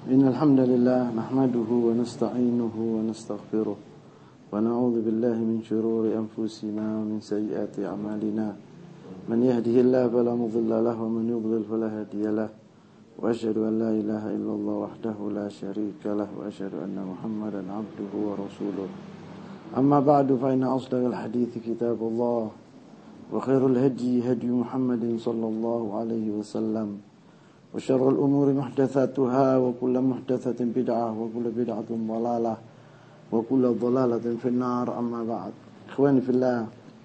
إن الحمد لله نحمده ونستعينه ونستغفره ونعوذ بالله من شرور أنفسنا ومن سيئات أعمالنا من يهده الله فلا مضل له ومن يضلل فلا هادي له وأشهد أن لا إله إلا الله وحده لا شريك له وأشهد أن محمدا عبده ورسوله أما بعد فإن أصدق الحديث كتاب الله وخير الهدي هدي محمد صلى الله عليه وسلم وشر الأمور محدثاتها وكل محدثة بدعة وكل بدعة ضلالة وكل ضلالة في النار أما بعد Ikhwani fillah,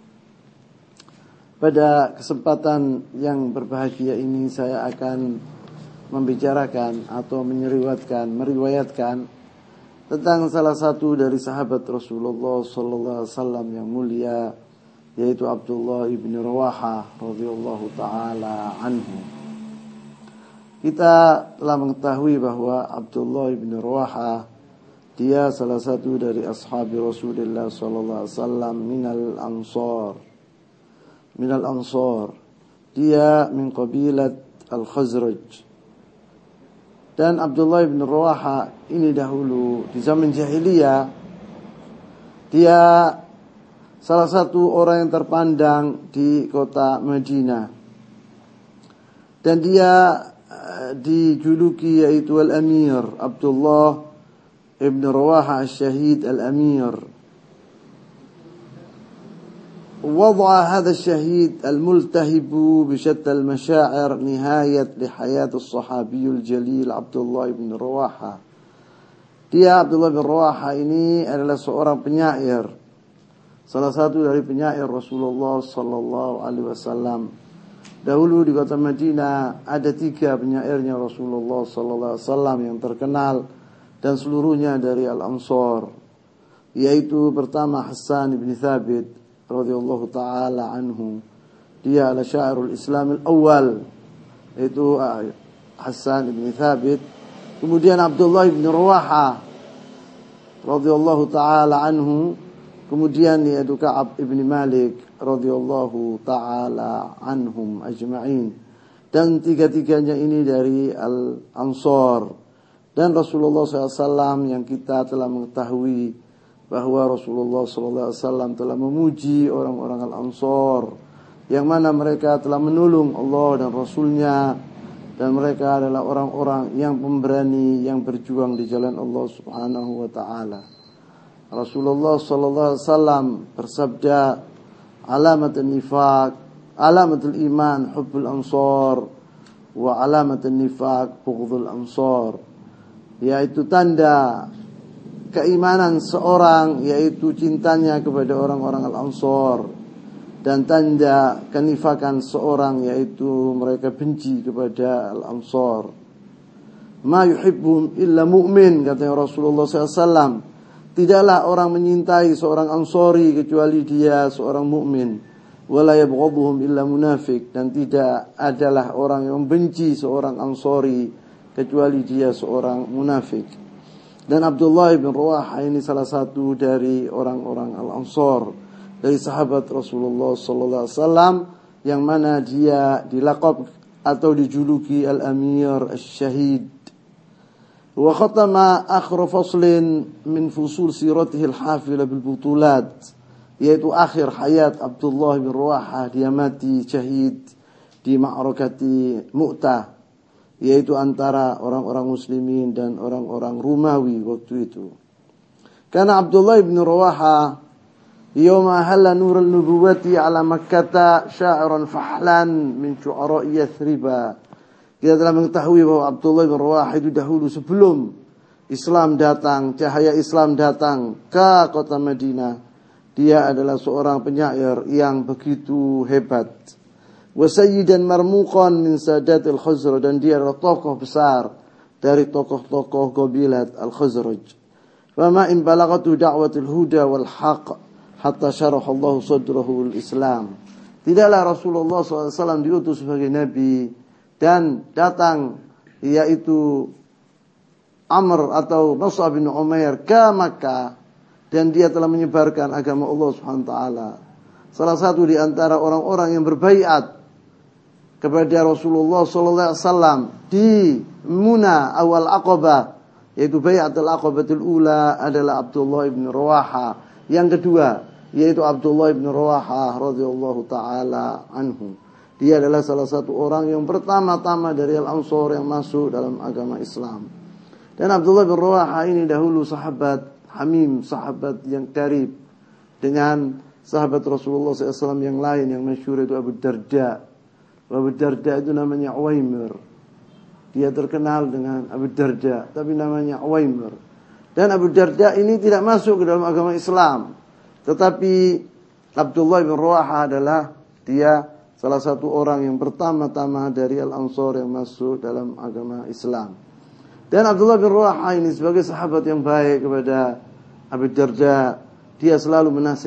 pada kesempatan yang berbahagia ini saya akan membicarakan atau meriwayatkan tentang salah satu dari sahabat Rasulullah sallallahu alaihi wasallam yang mulia, yaitu Abdullah ibn Rawahah radhiyallahu taala anhu. Kita telah mengetahui bahwa Abdullah ibn Rawahah dia salah satu dari ashabi Rasulullah sallallahu alaihi wasallam minal ansar. Dia min qabilat al-Khazraj. Dan Abdullah ibn Rawahah ini dahulu di zaman jahiliyah dia salah satu orang yang terpandang di kota Madinah. Dan dia dijuluki yaitu Al-Amir, Abdullah ibn Rawahah Al-Shahid Al-Amir. وضع هذا الشهيد الملتهب بشتى المشاعر نهاية لحياة الصحابي الجليل عبد الله بن رواحة. Dia Abdullah bin Rawahah ini adalah seorang penyair, salah satu dari penyair Rasulullah sallallahu alaihi wasallam. Dahulu di kota Madinah ada 3 penyairnya Rasulullah sallallahu alaihi wasallam yang terkenal dan seluruhnya dari Al-Ansar, yaitu pertama Hassan bin Thabit radhiyallahu taala anhu. Dia adalah syairul Islam al-awwal, yaitu Hassan bin Thabit. Kemudian Abdullah bin Rawahah radhiyallahu taala anhu. Kemudian yaitu Ka'ab ibn Malik radhiyallahu ta'ala anhum ajma'in. Dan 3-tiganya ini dari Al-Ansar. Dan Rasulullah SAW yang kita telah mengetahui bahwa Rasulullah SAW telah memuji orang-orang Al-Ansar, yang mana mereka telah menolong Allah dan Rasulnya, dan mereka adalah orang-orang yang pemberani, yang berjuang di jalan Allah Subhanahu wa ta'ala. Rasulullah sallallahu alaihi wasallam bersabda, alamatul nifaq, alamatul iman hubbul ansar, wa alamatul nifaq bughdul ansar. Yaitu tanda keimanan seorang yaitu cintanya kepada orang-orang al-ansar, dan tanda kenifakan seorang yaitu mereka benci kepada al-ansar. Ma yuhibbun illa mu'min, kata Rasulullah sallallahu alaihi wasallam. Tidaklah orang menyintai seorang Ansari kecuali dia seorang mukmin. Wala yabghaduhum illa munafik, dan tidak adalah orang yang membenci seorang Ansari kecuali dia seorang munafik. Dan Abdullah bin Rawahah ini salah satu dari orang-orang Al-Ansar, dari sahabat Rasulullah sallallahu alaihi wasallam, yang mana dia dilaqab atau dijuluki Al-Amir Al-Shahid. وختم آخر فصل من فصول سيرته الحافلة بالبطولات, yaitu akhir hayat Abdullah bin Rawahah. Dia mati syahid di ma'rakati Mu'tah, yaitu antara orang-orang muslimin dan orang-orang Romawi waktu itu. Karena Abdullah bin Rawahah yawma halla nur al-nubuwati ala Makkah sya'iran fahlan min syu'ara'i Yathriba. Kita telah mengetahui bahwa Abdullah bin Rawahah itu dahulu sebelum Islam datang, cahaya Islam datang ke kota Madinah, dia adalah seorang penyair yang begitu hebat. Wa sayyidan marmuqan min sadatil Khazraj, dan dia adalah tokoh besar dari tokoh-tokoh qabilat al-Khazraj. Wa ma in balagatu da'watul huda wal haqq hatta syaraha Allah sadrahu al-Islam. Tidaklah Rasulullah SAW diutus sebagai nabi dan datang yaitu Amr atau Mus'ab bin Umair ke Makkah, dan dia telah menyebarkan agama Allah Subhanahu wa taala. Salah satu di antara orang-orang yang berbaiat kepada Rasulullah sallallahu alaihi wasallam di Muna awal Aqabah, yaitu Bai'atul Aqabatul Ula, adalah Abdullah bin Rawaha. Yang kedua yaitu Abdullah bin Rawaha radhiyallahu taala anhu. Dia adalah salah satu orang yang pertama-tama dari Al-Ansar yang masuk dalam agama Islam. Dan Abdullah bin Rawaha ini dahulu sahabat hamim, sahabat yang karib dengan sahabat Rasulullah SAW yang lain yang masyhur, itu Abu Darda. Abu Darda itu namanya Uwaimir. Dia terkenal dengan Abu Darda, tapi namanya Uwaimir. Dan Abu Darda ini tidak masuk ke dalam agama Islam. Tetapi Abdullah bin Rawaha adalah dia salah satu orang yang pertama-tama dari Al-Ansar yang masuk dalam agama Islam. Dan Abdullah bin Rawaha ini sebagai sahabat yang baik kepada Abu Darda, dia selalu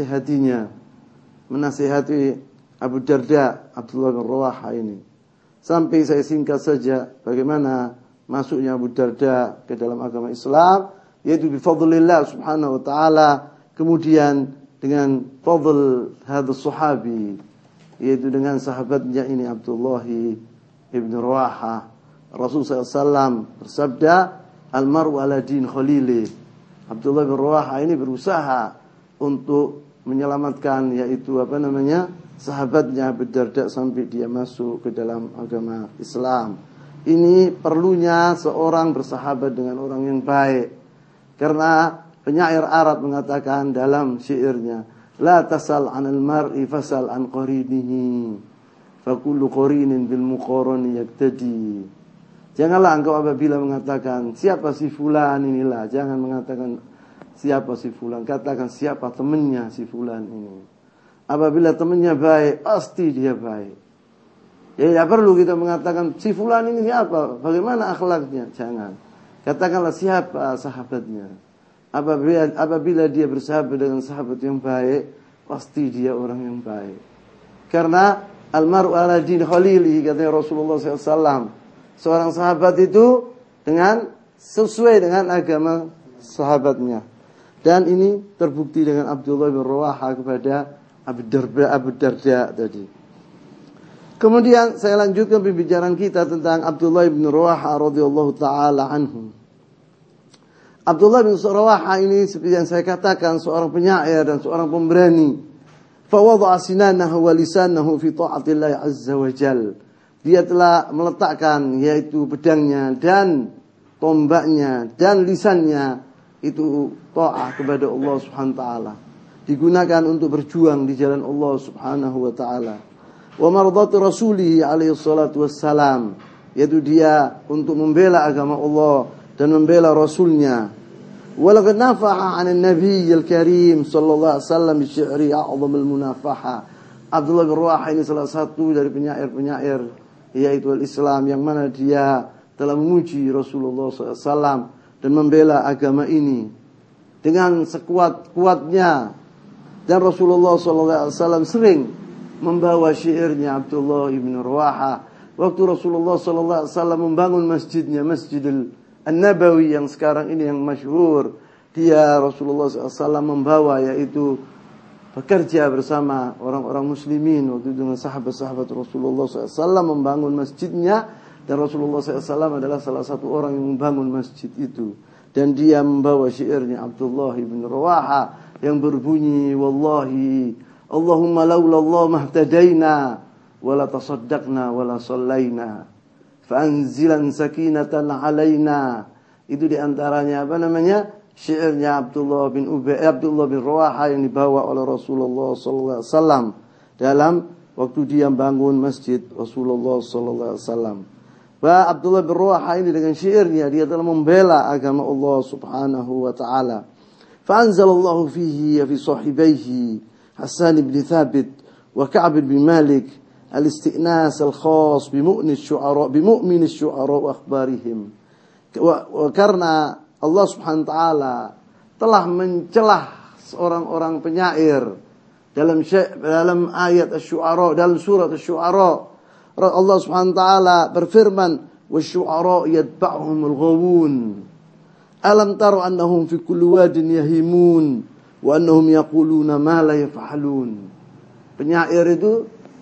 menasihati Abu Darda, Abdullah bin Rawaha ini. Sampai saya singkat saja bagaimana masuknya Abu Darda ke dalam agama Islam, yaitu bifadlillah subhanahu wa ta'ala, kemudian dengan fadl hadis sahabi, yaitu dengan sahabatnya ini Abdullah ibn Rawaha. Rasulullah SAW bersabda, "Al-mar'u ala din khalili." Abdullah bin Rawaha ini berusaha untuk menyelamatkan, yaitu sahabatnya Abu Darda sampai dia masuk ke dalam agama Islam. Ini perlunya seorang bersahabat dengan orang yang baik. Karena penyair Arab mengatakan dalam syairnya, "La tasal 'anil mar'i fasal an qarinihi, fa kullu qarinin bil muqarani yaktadi." Janganlah engkau apabila mengatakan siapa si fulan inilah, jangan mengatakan siapa si fulan, katakan siapa temannya si fulan ini. Apabila temannya baik, pasti dia baik. Ya, tidak perlu kita mengatakan si fulan ini apa, bagaimana akhlaknya, jangan. Katakanlah siapa sahabatnya. Apabila dia bersahabat dengan sahabat yang baik, pasti dia orang yang baik. Karena almaru ala din khalili, katanya Rasulullah SAW. Seorang sahabat itu sesuai dengan agama sahabatnya. Dan ini terbukti dengan Abdullah bin Rawaha kepada Abu Darda tadi. Kemudian saya lanjutkan pembicaraan kita tentang Abdullah bin Rawaha radhiyallahu taala anhu. Abdullah bin Rawaha ini seperti yang saya katakan seorang penyair dan seorang pemberani. Fa wada'a sinanahu wa lisanahu fi ta'atillah azza wa jalla. Dia telah meletakkan yaitu pedangnya dan tombaknya dan lisannya itu ta'ah kepada Allah Subhanahu wa taala. Digunakan untuk berjuang di jalan Allah Subhanahu wa taala. Wa mardhati rasulih alaihi salatu wassalam, yaitu dia untuk membela agama Allah dan membela rasulnya. Walaqad nafaha 'an an-nabiy al-karim sallallahu alaihi wasallam bi syi'ri a'zamul munafaha. Abdullah bin Rawaha ini salah satu dari penyair-penyair yaitu al-Islam yang mana dia telah memuji Rasulullah SAW dan membela agama ini dengan sekuat-kuatnya. Dan Rasulullah SAW sering membawa syairnya Abdullah bin Rawaha. Waktu Rasulullah SAW membangun masjidnya, Masjidil An-Nabawi yang sekarang ini yang masyhur, dia Rasulullah SAW membawa, yaitu bekerja bersama orang-orang muslimin waktu itu dengan sahabat-sahabat Rasulullah SAW membangun masjidnya. Dan Rasulullah SAW adalah salah satu orang yang membangun masjid itu. Dan dia membawa syairnya Abdullah bin Rawaha yang berbunyi, "Wallahi Allahumma laula Allah mahtadaina wala tasaddaqna wala sallaina fanzilan sakinatan alaina." Itu diantaranya syairnya Abdullah bin Rawaha yang dibawa oleh Rasulullah sallallahu alaihi wasallam dalam waktu dia bangun masjid Rasulullah sallallahu alaihi wasallam. Wa Abdullah bin Rawaha ini dengan syairnya dia telah membela agama Allah Subhanahu wa taala. Fa anzalallahu fihi fi sahibaihi Hasan bin Thabit wa Ka'b bin Malik al-isti'nas al-khas bi mu'min asy-syu'ara wa akhbarihim. Karena Allah Subhanahu wa taala telah mencelah orang-orang penyair dalam ayat Asy-Syu'ara, dalam surat Asy-Syu'ara. Allah Subhanahu wa taala berfirman, "Wasy-syu'ara yatba'uhumul ghawun. Alam tara annahum fi kulli wadin yahimun wa annahum yaquluna ma la yaf'alun." Penyair itu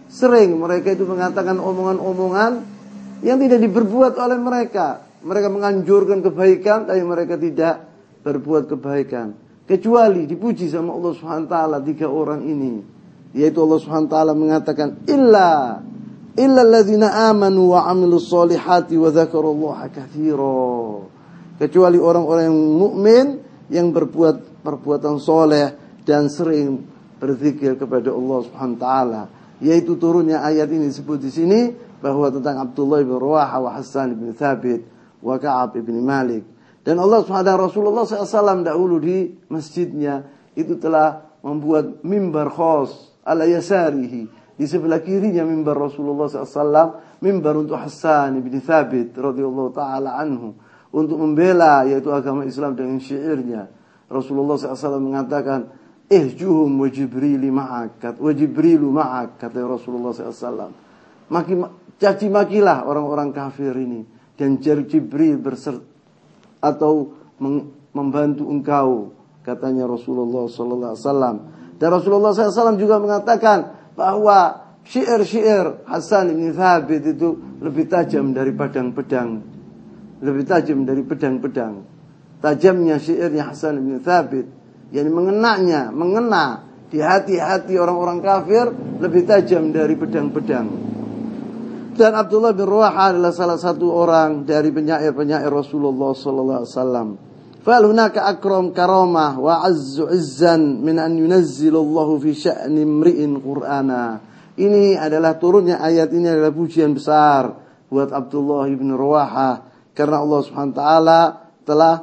Sering mereka itu mengatakan omongan-omongan yang tidak diperbuat oleh mereka. Mereka menganjurkan kebaikan, tapi mereka tidak berbuat kebaikan. Kecuali dipuji sama Allah SWT 3 orang ini. Yaitu Allah SWT mengatakan, Illa alladzina amanu wa amilus solihati wa dzakarullaha katsira. Kecuali orang-orang yang mukmin yang berbuat perbuatan soleh dan sering berzikir kepada Allah SWT. Yaitu turunnya ayat ini disebut di sini bahwa tentang Abdullah bin Rawaha wa Hassan bin Thabit wa Ka'ab bin Malik. Dan Allah SWT Rasulullah SAW dahulu di masjidnya itu telah membuat mimbar khas ala yasarihi. Di sebelah kirinya mimbar Rasulullah SAW, mimbar untuk Hassan bin Thabit radhiyallahu taala anhu untuk membela yaitu agama Islam dengan syairnya. Rasulullah SAW mengatakan, ihjuhum wa Jibrilu ma'ak, wa Jibrilu ma'ak, kata Rasulullah SAW. Caci makilah orang-orang kafir ini dan Jibril berserta atau membantu engkau, katanya Rasulullah SAW. Dan Rasulullah SAW juga mengatakan bahwa syair-syair Hasan bin Thabit itu lebih tajam dari pedang-pedang, lebih tajam dari pedang-pedang. Tajamnya syairnya Hasan bin Thabit, yang mengena di hati-hati orang-orang kafir lebih tajam dari pedang-pedang. Dan Abdullah bin Rawaha adalah salah satu orang dari penyair-penyair Rasulullah sallallahu alaihi wasallam. Fal hunaka akram karamah wa azzu izzan min an yunazzilallahu fi sya'ni imri'in qur'ana. Ini adalah turunnya ayat ini adalah pujian besar buat Abdullah bin Rawaha karena Allah Subhanahu wa taala telah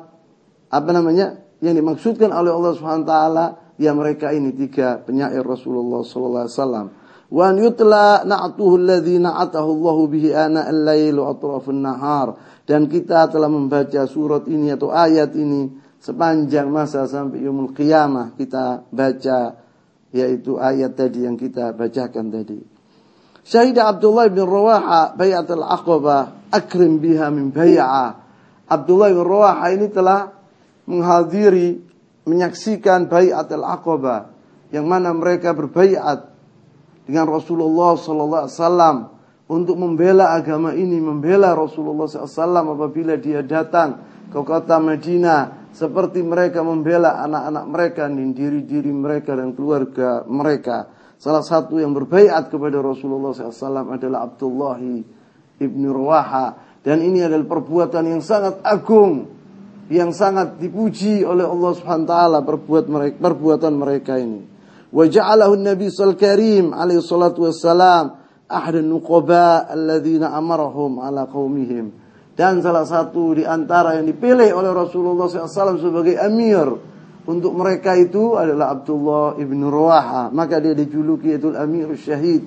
yang dimaksudkan oleh Allah SWT ya mereka ini 3 penyair Rasulullah sallallahu alaihi wasallam. Wa an yutla na'tuhu alladhi na'atahu Allahu bihi ana al-lail wa atrafun nahar. Dan kita telah membaca surat ini atau ayat ini sepanjang masa sampai yaumul qiyamah kita baca yaitu ayat tadi yang kita bacakan tadi. Syahida Abdullah bin Rawaha bai'atul aqabah akrim biha min bai'ah. Abdullah bin Rawaha ini telah menghadiri, menyaksikan bai'atul aqabah yang mana mereka berbaiat dengan Rasulullah sallallahu alaihi wasallam untuk membela agama ini, membela Rasulullah sallallahu alaihi wasallam apabila dia datang ke kota Madinah, seperti mereka membela anak-anak mereka, diri-diri mereka dan keluarga mereka. Salah satu yang berbaiat kepada Rasulullah sallallahu alaihi wasallam adalah Abdullah ibn Rawaha, dan ini adalah perbuatan yang sangat agung, yang sangat dipuji oleh Allah Subhanahu wa taala perbuatan mereka ini. Wa ja'alahu an-nabi sallallahu karim alaihi salatu wassalam ahadun nuqaba alladziina amarahum ala qaumihim. Dan salah satu di antara yang dipilih oleh Rasulullah SAW sebagai amir untuk mereka itu adalah Abdullah ibn Rawaha. Maka dia dijuluki itu Amirul Syahid.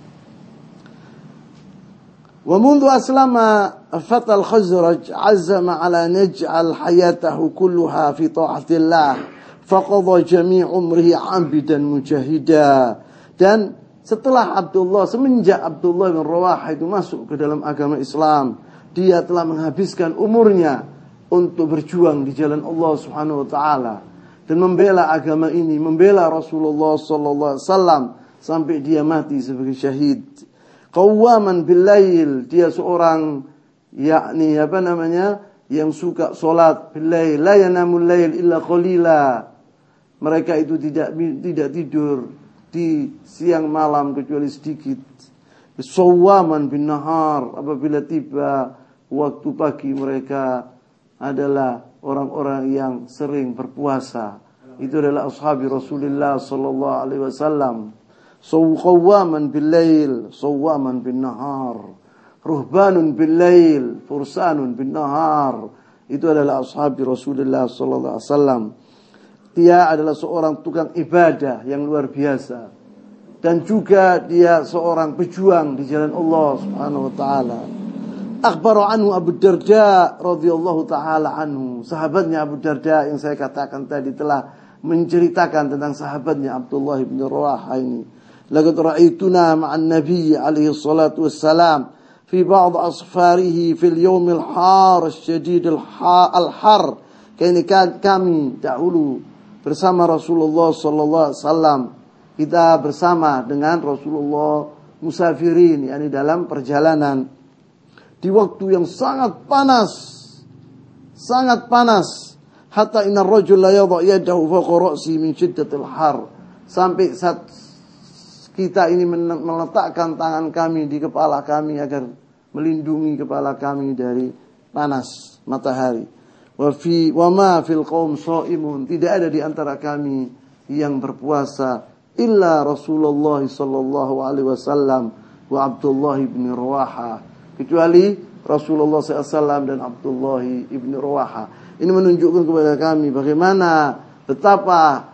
ومنذ أسلم فتى الخزرج عزم على نجعل حياته كلها في طاعة الله فقضى جميع عمره عبدا مجاهدا. Dan setelah semenjak Abdullah bin Rawaha itu masuk ke dalam agama Islam, dia telah menghabiskan umurnya untuk berjuang di jalan Allah Subhanahu wa taala dan membela agama ini, membela Rasulullah sallallahu alaihi wasallam sampai dia mati sebagai syahid. Qawaman bil lail, dia seorang yang suka salat bil lail, la yanamul lail illa qalila. Mereka itu tidak tidur di siang malam kecuali sedikit. Sawaman bin nahar, apabila tiba waktu pagi mereka adalah orang-orang yang sering berpuasa. Itu adalah ashabi Rasulullah sallallahu alaihi wasallam. Qawaman bil lail, sawaman bin nahar, ruhbanun bil lail, fursanun bin nahar. Itu adalah ashabi Rasulullah sallallahu alaihi wasallam. Dia adalah seorang tukang ibadah yang luar biasa, dan juga dia seorang pejuang di jalan Allah Subhanahu wa taala. Akhbaru anhu Abu Darda radhiyallahu taala anhu. Sahabatnya Abu Darda yang saya katakan tadi telah menceritakan tentang sahabatnya Abdullah bin Rawaha ini. Laqad ra'aituna ma'an nabiy alaihi salatu wassalam fi ba'd asfarihi fil yawm al-har asyadid al-har. Kami dahulu bersama Rasulullah sallallahu alaihi wasallam. Kita bersama dengan Rasulullah musafirin, yakni dalam perjalanan di waktu yang sangat panas, hatta inna ar-rajul la yadha yadahu fawqa ra'si min shiddatil har, sampai saat kita ini meletakkan tangan kami di kepala kami agar melindungi kepala kami dari panas matahari. Wa ma fil qaum shaimun, tidak ada di antara kami yang berpuasa illa Rasulullah sallallahu alaihi wasallam wa Abdullah bin Rawaha, kecuali Rasulullah SAW dan Abdullah bin Rawaha. Ini menunjukkan kepada kami bagaimana betapa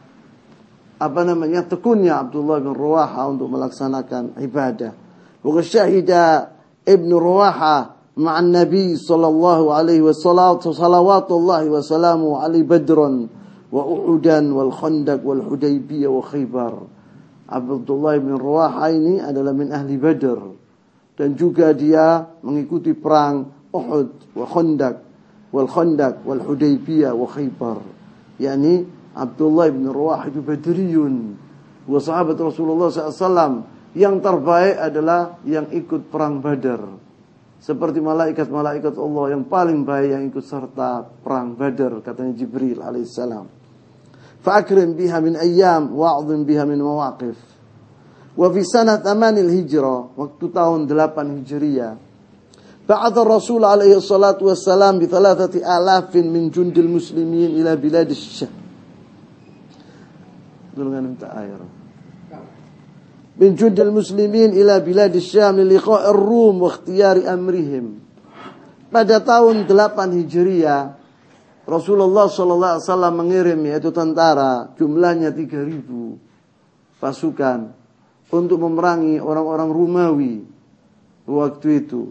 tekunnya Abdullah bin Rawaha untuk melaksanakan ibadah. Wa syahida Ibn Rawaha ma'an Nabi sallallahu alaihi wasallam salawatullahi wa salamu alaihi badran wa Uhudan wal Khandaq wal Hudaybiyah wa Khaybar. Abdullah bin Rawaha ini adalah min ahli Badr, dan juga dia mengikuti perang Uhud wa Khandaq wal Hudaybiyah wa Khaybar. Yani Abdullah bin Rawaha itu Badriyun, wa sahabat Rasulullah SAW yang terbaik adalah yang ikut perang Badar. Seperti malaikat-malaikat Allah yang paling baik yang ikut serta perang Badar, katanya Jibril alaihissalam. Fa'akrim biha min ayyam wa'adhim biha min mawaqif. Wa fi sanat 8 hijrah, waktu tahun 8 Hijriah, ba'atha Rasul alaihi salatu wassalam bi 3,000 min jundil muslimin ila bilad Syam. Dengan minta air. Min jundil muslimin ila bilad Syam li liqa'i ar-Rum wa ikhtiyari amrihim. Pada tahun 8 Hijriah, Rasulullah sallallahu alaihi wasallam mengirim yaitu tentara jumlahnya 3.000 pasukan untuk memerangi orang-orang Romawi waktu itu.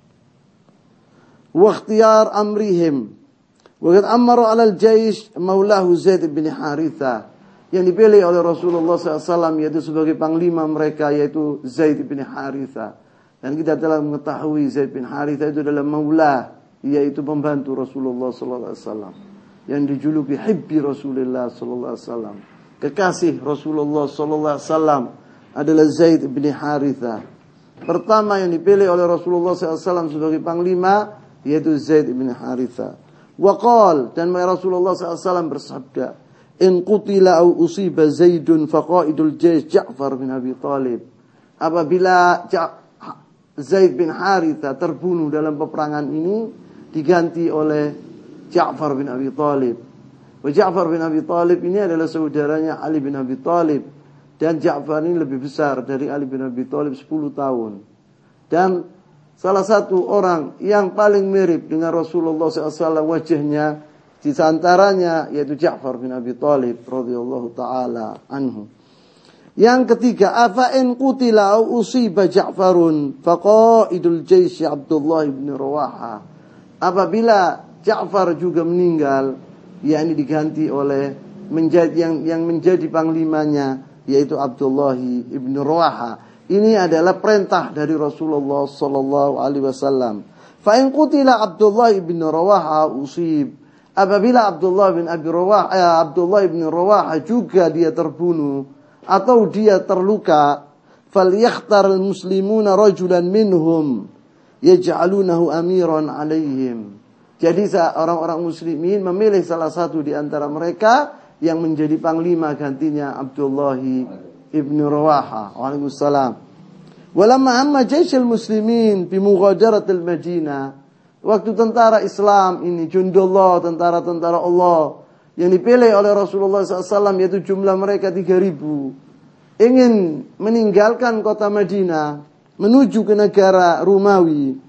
Wa ikhtiyar amrihim. Wa qad amara 'ala al-jaysh maulahu Zaid bin Harithah, yang dipilih oleh Rasulullah SAW yaitu sebagai panglima mereka, yaitu Zaid bin Harithah. Dan kita telah mengetahui Zaid bin Harithah itu adalah maula, yaitu pembantu Rasulullah SAW, yang dijuluki hibbi Rasulullah SAW, kekasih Rasulullah SAW adalah Zaid bin Harithah. Pertama yang dipilih oleh Rasulullah SAW sebagai panglima yaitu Zaid bin Harithah. Waqal, dan Rasulullah SAW bersabda, in qutila au usiba Zaidun faqaidul jaysh Ja'far bin Abi Talib. Apabila Zaid bin Harithah terbunuh dalam peperangan ini, diganti oleh Ja'far bin Abi Talib. Ja'far bin Abi Talib ini adalah saudaranya Ali bin Abi Talib, dan Ja'far ini lebih besar dari Ali bin Abi Talib 10 tahun. Dan salah satu orang yang paling mirip dengan Rasulullah SAW wajahnya di antaranya yaitu Ja'far bin Abi Talib radhiyallahu taala anhu. Yang ketiga, afa in qutila au usiba Ja'farun faqaidul jaysh Abdullah bin Rawaha. Apabila Ja'far juga meninggal, yakni diganti oleh yang menjadi panglimanya yaitu Abdullah bin Rawaha. Ini adalah perintah dari Rasulullah sallallahu alaihi wasallam. Fa in qutila Abdullah bin Rawaha usib. Apabila Abdullah bin Rawaha juga dia terbunuh atau dia terluka, falyakhtar al-muslimuna rajulan minhum yaj'alunahu amiran alaihim. Jadi orang-orang muslimin memilih salah satu di antara mereka yang menjadi panglima gantinya Abdullah ibn Rawaha. Waalaikumsalam. Walamma amma jayshul muslimin bi mughadaratil Madinah, waktu tentara Islam ini, jundullah, tentara-tentara Allah yang dipilih oleh Rasulullah SAW, yaitu jumlah mereka 3.000, ingin meninggalkan kota Madinah menuju ke negara Romawi.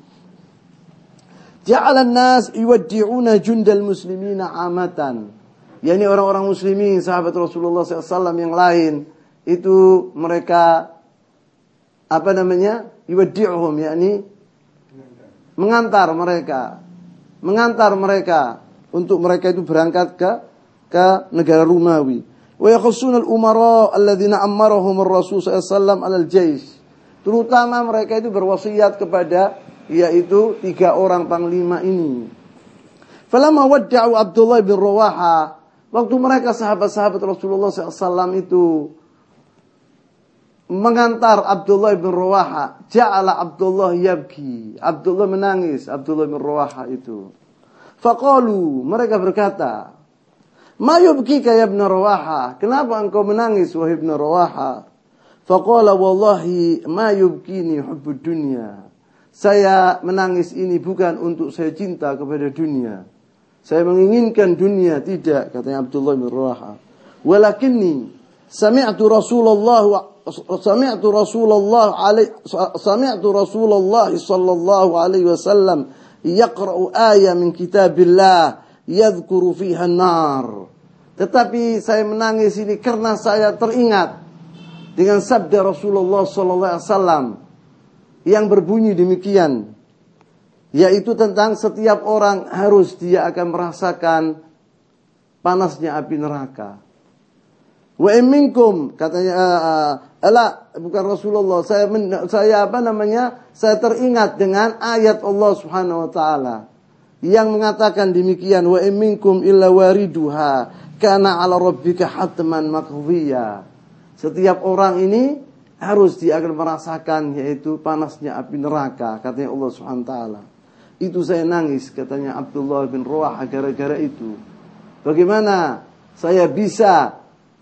Ja'alan nas yuwaddi'una jundal muslimina amatan. Yani orang-orang muslimin, sahabat Rasulullah SAW yang lain, itu mereka yuwaddi'uhum, yakni mengantar mereka untuk mereka itu berangkat ke negara Romawi. Wa yakhussuna al-umara alladziina ammarahum ar-rasul sallallahu alaihi wasallam 'alal jaysh. Terutama mereka itu berwasiat kepada yaitu 3 orang panglima ini. Falamma wadda'u Abdullah bin Rawaha, waktu mereka sahabat-sahabat Rasulullah SAW itu mengantar Abdullah bin Rawaha, ja'ala Abdullah yabki. Abdullah menangis, Abdullah bin Rawaha itu. Faqalu, mereka berkata, "Ma yubkika ya ibn Rawaha? Kenapa engkau menangis wahai ibn Rawaha?" Faqala, "Wallahi ma yubkini hubbud dunya." Saya menangis ini bukan untuk saya cinta kepada dunia. Saya menginginkan dunia, tidak, katanya Abdullah bin Rawaha. Walakinni sami'tu Rasulullah sallallahu alaihi wasallam yaqra'u ayat min kitabillah yadhkuru fiha an-nar. Tetapi saya menangis ini karena saya teringat dengan sabda Rasulullah sallallahu alaihi wasallam yang berbunyi demikian, yaitu tentang setiap orang harus dia akan merasakan panasnya api neraka. Wa minkum, katanya bukan Rasulullah, saya teringat dengan ayat Allah Subhanahu wa taala yang mengatakan demikian, wa minkum illa wariduha kana 'ala rabbika hatman maqdhiya. Setiap orang ini harus dia akan merasakan, yaitu panasnya api neraka, katanya Allah Subhanahu wa taala. Itu saya nangis, katanya Abdullah bin Rawaha, gara-gara itu. Bagaimana saya bisa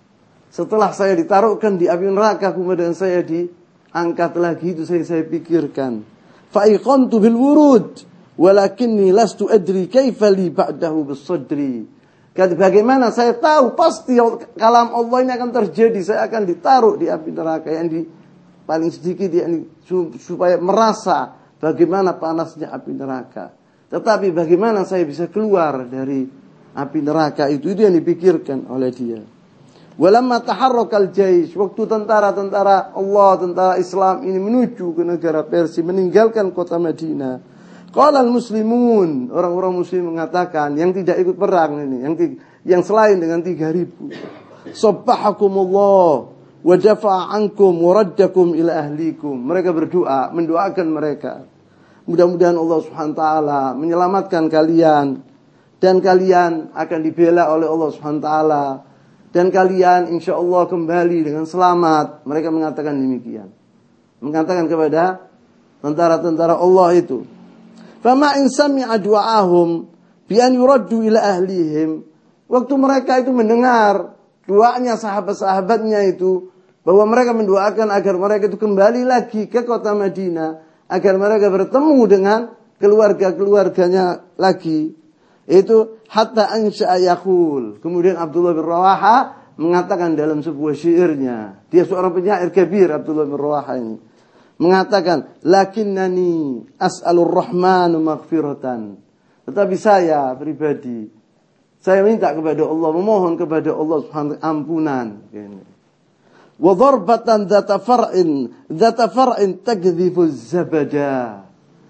setelah saya ditaruhkan di api neraka kemudian saya diangkat lagi, itu saya pikirkan. Fa iqantu bil wurud walakinni lastu adri kaifa li ba'dahu bis sadri. Bagaimana saya tahu pasti kalam Allah ini akan terjadi, saya akan ditaruh di api neraka yang paling sedikit supaya merasa bagaimana panasnya api neraka. Tetapi bagaimana saya bisa keluar dari api neraka itu yang dipikirkan oleh dia. Walamma taharrakal jaish, waktu tentara-tentara Allah, tentara Islam ini menuju ke negara Persia, meninggalkan kota Madinah. Qala al-muslimun, orang-orang muslim mengatakan, yang tidak ikut perang ini, yang selain dengan 3.000. Sabbahakumullah wa dafa'a ankum wa raddakum ila ahlikum. Mereka berdoa, mendoakan mereka. Mudah-mudahan Allah Subhanahu wa taala menyelamatkan kalian dan kalian akan dibela oleh Allah Subhanahu wa taala dan kalian insyaallah kembali dengan selamat. Mereka mengatakan demikian. Mengatakan kepada tentara-tentara Allah itu. Fama in sami'a du'ahum bi an yuraddu ila ahlihim. Waktu mereka itu mendengar doanya sahabat-sahabatnya itu, bahwa mereka mendoakan agar mereka itu kembali lagi ke kota Madinah, agar mereka bertemu dengan keluarga-keluarganya lagi. Itu hatta ansha'a yaqul. Kemudian Abdullah bin Rawaha mengatakan dalam sebuah syairnya, dia seorang penyair kabir, Abdullah bin Rawaha ini, mengatakan, lakinnani as'alur rahmanu maghfiratan. Tetapi saya pribadi, saya minta kepada Allah, memohon kepada Allah Subhanahu ampunan. Wa darbatan dzata far'in takdhifu zabada.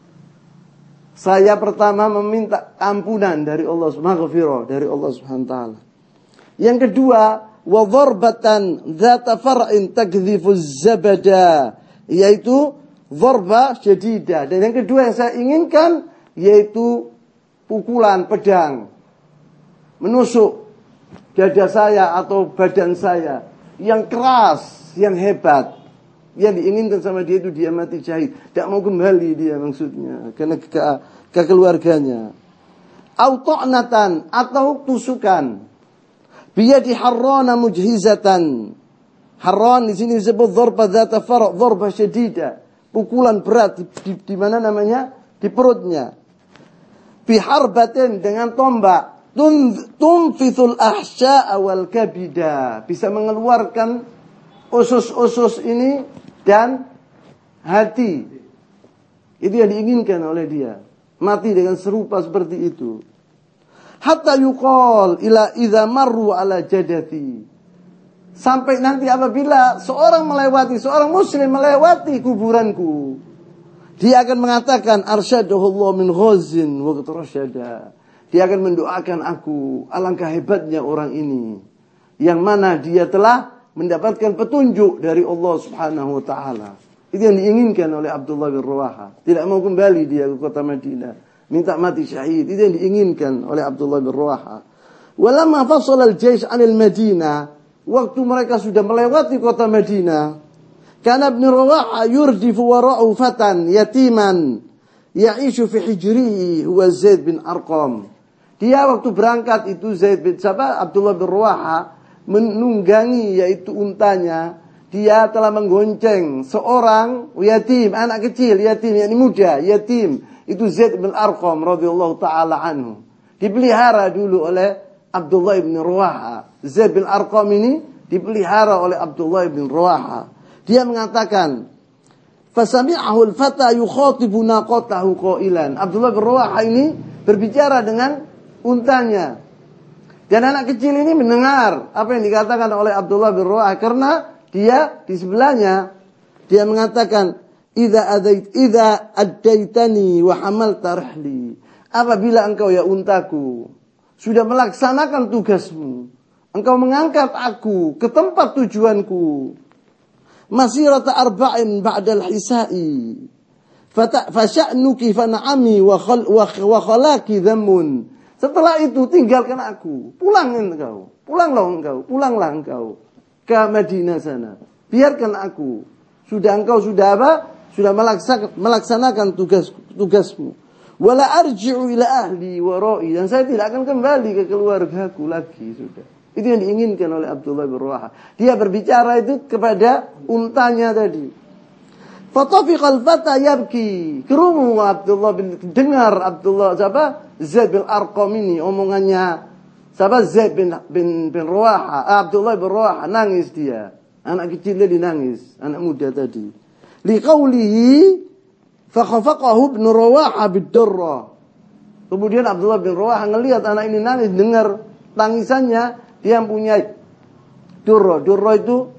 Saya pertama meminta ampunan dari Allah Subhanahu dari Allah Subhanahu taala. Yang kedua, wa darbatan dzata far'in takdhifu zabada, yaitu dharba syadidah. Dan yang kedua yang saya inginkan yaitu pukulan pedang menusuk dada saya atau badan saya yang keras, yang hebat. Yang diinginkan sama dia itu dia mati syahid, tidak mau kembali dia maksudnya karena ke keluarganya. Au ta'natan, atau tusukan. Biyadi harrana mujhizatan. Harran di sini disebut dharba dzata far', dharba syadida, pukulan berat di mana namanya? Di perutnya. Biharbatin, dengan tombak, tunfithul ahsya'a wal kabida, bisa mengeluarkan usus-usus ini dan hati. Itu yang diinginkan oleh dia, mati dengan serupa seperti itu. Hatta yuqal ila idza marru ala jadati, sampai nanti apabila seorang muslim melewati kuburanku, dia akan mengatakan arsyadahullah min ghazin wa rasyada. Dia akan mendoakan aku, alangkah hebatnya orang ini, yang mana dia telah mendapatkan petunjuk dari Allah Subhanahu wa taala. Itu yang diinginkan oleh Abdullah bin Rawaha. Tidak mau kembali dia ke kota Madinah, minta mati syahid. Itu yang diinginkan oleh Abdullah bin Rawaha. Walamma fasala al-jaysh 'anil Madinah, waktu mereka sudah melewati kota Madinah, Kana Ibn Rawaha yurdifu wara'u fatan yatiman ya'ishu fi hijrihi huwa Zaid bin Arqam. Dia waktu berangkat itu Abdullah bin Rawaha menunggangi yaitu untanya. Dia telah menggonceng seorang yatim, anak kecil, yatim, yakni muda, yatim. Itu Zaid bin Arqam radhiyallahu taala anhu. Dipelihara dulu oleh Abdullah bin Rawaha. Zaid bin Arqam ini dipelihara oleh Abdullah bin Rawaha. Dia mengatakan, "Fasami'ahu al-fata yukhatibu naqatahu qailan." Abdullah bin Rawaha ini berbicara dengan untanya. Dan anak kecil ini mendengar apa yang dikatakan oleh Abdullah bin Rawaha karena dia di sebelahnya. Dia mengatakan, "Idza addaitani wa hamalta rahli." Apabila engkau ya untaku sudah melaksanakan tugasmu, engkau mengangkat aku ke tempat tujuanku. Masirata arba'in ba'dal hisai. Fasya'nuki fana'ami wa khalaki dhammun. Setelah itu tinggalkan aku. Pulanglah engkau ke Madinah sana. Biarkan aku. Engkau sudah apa? Sudah melaksanakan tugasmu. Wala arji'u ila ahli wa ra'i. Dan saya tidak akan kembali ke keluargaku lagi sudah. Itu yang diinginkan oleh Abdullah bin Rawaha. Dia berbicara itu kepada untanya tadi. Fatafiqal fata yabki. Kerumu Abdullah dengar Zaid bin Arqam ini omongannya. Zaid bin Rawaha, Abdullah bin Rawaha, nangis dia. Anak kecil tadi nangis, anak muda tadi. Liqaulihi fakhafaqahu ibn Rawaha bid-darra. Kemudian Abdullah bin Rawaha ngelihat anak ini nangis, dengar tangisannya. Dia mempunyai durra. Durra itu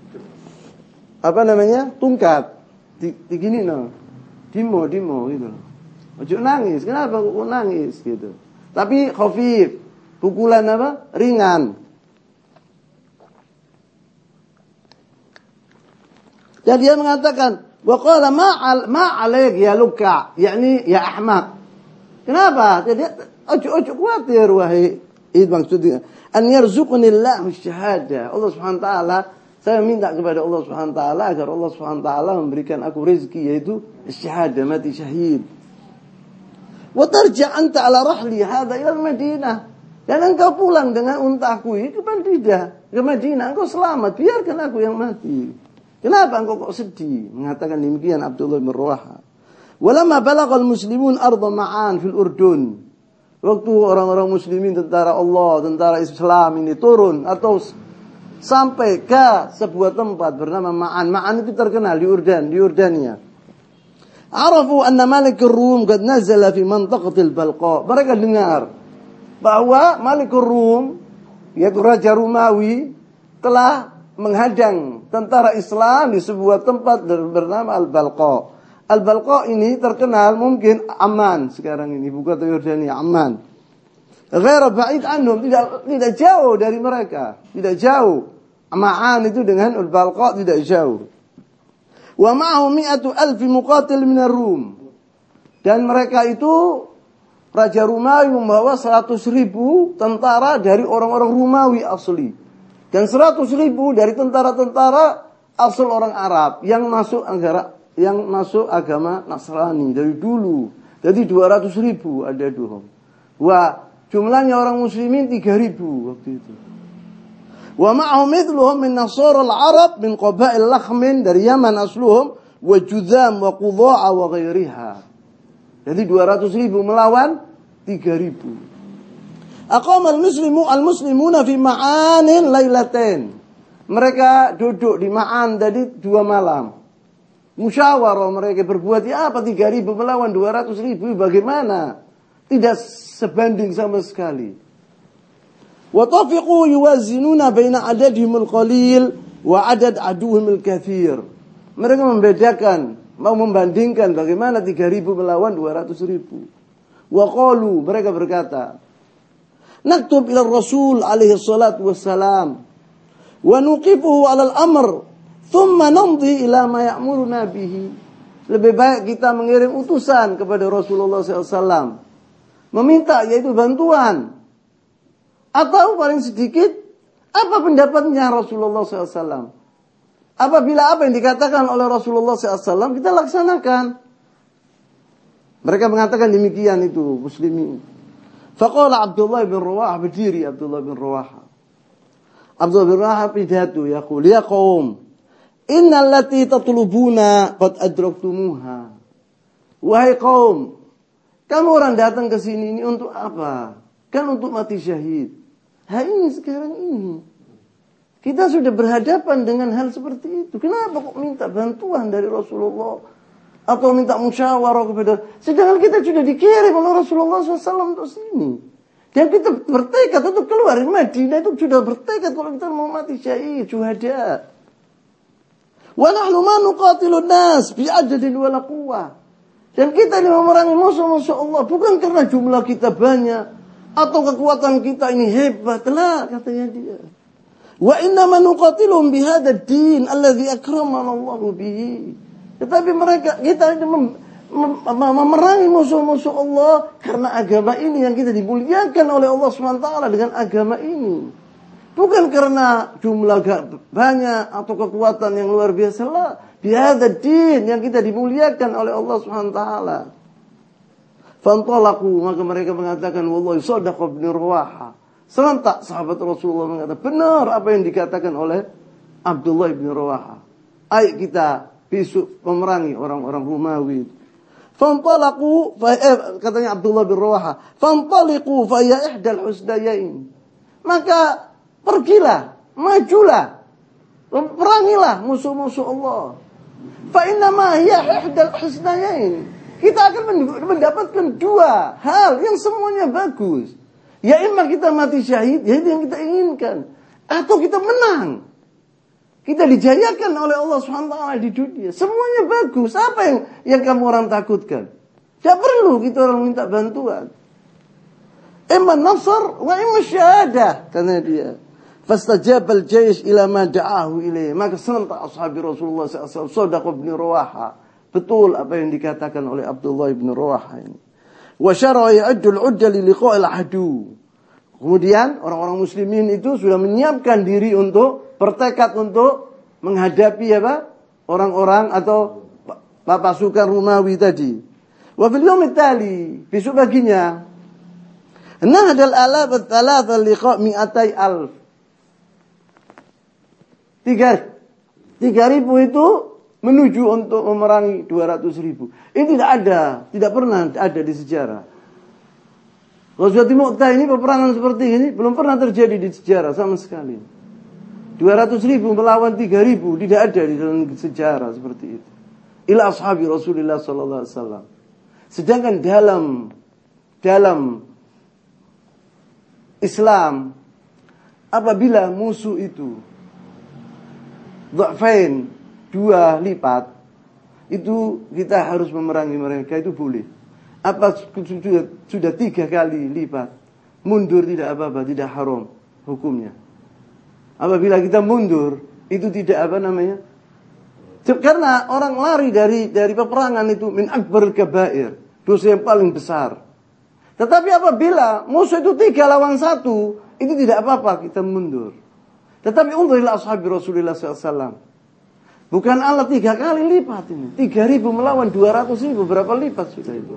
apa namanya? Tungkat. Digini no. Dimo gitu. Ojo nangis. Kenapa kok nangis gitu? Tapi khafif. Pukulan apa? Ringan. Dan dia mengatakan, wa qala ma 'alaik ya luka, yakni ya ahmaq. Kenapa? Jadi ojo khawatir wahai. Itu maksudnya an yarzuqnillahu syahada. Allah Subhanahu wa taala, saya minta kepada Allah Subhanahu wa taala agar Allah Subhanahu wa taala memberikan aku rezeki yaitu syahada, mati syahid. Wa tarja anta ala rahli hadha ila Madinah. Dan engkau pulang dengan untaku itu ke Madinah. Engkau selamat, biarkan aku yang mati. Kenapa engkau kok sedih? Mengatakan demikian Abdullah bin Rawaha. Walamma balagal muslimun arda Ma'an fil Urdun. Waktu orang-orang muslimin, tentara Allah, tentara Islam ini turun atau sampai ke sebuah tempat bernama Ma'an. Ma'an itu terkenal di Yordania. Arafu anna Malik Rum qad nazala fi mantaqatil Balqa. Mereka dengar bahwa Malik Rum, yaitu Raja Romawi, telah menghadang tentara Islam di sebuah tempat bernama Al-Balqa. Al-Balqa ini terkenal mungkin Amman sekarang ini, bukan Yordania, Amman. Ghaira ba'id anhum, tidak jauh dari mereka, tidak jauh. Ma'an itu dengan Al-Balqa tidak jauh. Wa ma'ahu 100,000 muqatil min ar-Rum. Dan mereka itu Raja Romawi membawa 100,000 tentara dari orang-orang Romawi asli. Dan 100,000 dari tentara-tentara asal orang Arab yang masuk agama Nasrani dari dulu. Jadi 200,000 ada dulu. Wah, jumlahnya orang muslimin 3,000 waktu itu. Wa ma'ahum mithluhum min nasara al-Arab min qabail Lakhmin dari Yaman asluhum wa Judham wa Qudha'a wa ghairiha. Jadi 200,000 melawan 3,000. Aqama al-muslimuna fi Ma'anin lailatain. Mereka duduk di Ma'an tadi 2 malam. Musyawarah mereka berbuat apa 3,000 melawan 200,000 bagaimana? Tidak sebanding sama sekali. Wa tafiqu yuwazinuna baina adadihimul qalil wa adad aduhimul katsir. Mereka membedakan, mau membandingkan bagaimana 3,000 melawan 200,000. Wa qalu, mereka berkata, naktub ila Rasul alaihi salatu wassalam wa nuqifuhu ala al-amr thumma namdi ila ma ya'muruna bihi. Lebih baik kita mengirim utusan kepada Rasulullah SAW, meminta yaitu bantuan, atau paling sedikit apa pendapatnya Rasulullah SAW. Apabila apa yang dikatakan oleh Rasulullah SAW kita laksanakan. Mereka mengatakan demikian itu muslimin. Faqala Abdullah bin Rawaha, berdiri Abdullah bin Rawaha. Abdullah bin Rawaha pidato yaqul ya qaum innal lati tatlubuna qad adraktumuha. Wahai kaum, kamu orang datang ke sini ini untuk apa? Kan untuk mati syahid. Ini sekarang ini. Kita sudah berhadapan dengan hal seperti itu. Kenapa kok minta bantuan dari Rasulullah? Atau minta musyawarah kepada... Sedangkan kita sudah dikirim oleh Rasulullah SAW untuk sini. Dan kita bertekad untuk keluar dari Madinah. Itu sudah bertekad kalau kita mau mati syahid, syuhada. Wa nahnu ma nuqatilun nas bi'adadin wala quwwah. Dan kita ini memerangi musuh-musuh Allah. Bukan karena jumlah kita banyak. Atau kekuatan kita ini hebat. Lah, katanya dia. Wa innama nuqatilum bihadad din alladhi akramana Allahu bihi. Tetapi kita memerangi musuh-musuh Allah karena agama ini yang kita dimuliakan oleh Allah SWT dengan agama ini. Bukan karena jumlah banyak atau kekuatan yang luar biasa lah. Bihadad din yang kita dimuliakan oleh Allah SWT. Fantalaqu, maka mereka mengatakan wallahi sadaqa ibn Rawaha. Serentak sahabat Rasulullah mengatakan benar apa yang dikatakan oleh Abdullah bin Rawaha. Ayo kita besok memerangi orang-orang Romawi. Fantalaqu, katanya Abdullah bin Rawaha, fantaliqu fa ya ihdal husnayain. Maka pergilah, majulah, perangilah musuh-musuh Allah. Fa inna ma hiya ihdal husnayain. Kita akan mendapatkan dua hal yang semuanya bagus. Ya imma kita mati syahid, ya itu yang kita inginkan. Atau kita menang. Kita dijayakan oleh Allah SWT di dunia. Semuanya bagus. Apa yang kamu orang takutkan? Tidak perlu kita orang minta bantuan. Imma nasr wa imma syahadah, kata dia. Fastajabal jaysh ila ma da'ahu ilaih. Maka serentak ashabi Rasulullah SAW, Shadaq bin Rawaha. Betul apa yang dikatakan oleh Abdullah bin Rawaha ini. Wa syara'a ya'uddu al-'udda li liqa'il adu. Kemudian orang-orang muslimin itu sudah menyiapkan diri untuk bertekad untuk menghadapi apa? Orang-orang atau pasukan Romawi tadi. Wa fil yawm tali, besok paginya, nahdal alaf ats-tsalatsa liqa' 200,000. 3.000 itu menuju untuk memerangi 200.000. Ini tidak pernah ada di sejarah. Ghazwatul Mu'tah ini peperangan seperti ini belum pernah terjadi di sejarah sama sekali. 200.000 melawan 3.000 tidak ada di dalam sejarah seperti itu. Ila ashabi Rasulullah sallallahu alaihi wasallam. Sedangkan dalam Islam apabila musuh itu dha'fain, 2 lipat, itu kita harus memerangi mereka, itu boleh. Apa sudah 3 kali lipat, mundur tidak apa-apa, tidak haram hukumnya. Apabila kita mundur, itu tidak apa namanya? Karena orang lari dari peperangan itu min akbar kabair, dosa yang paling besar. Tetapi apabila musuh itu 3 lawan 1, itu tidak apa-apa kita mundur. Tetapi untuk ashabi Rasulullah SAW, bukan Allah 3 kali lipat ini. 3.000 melawan 200.000, berapa lipat sudah itu?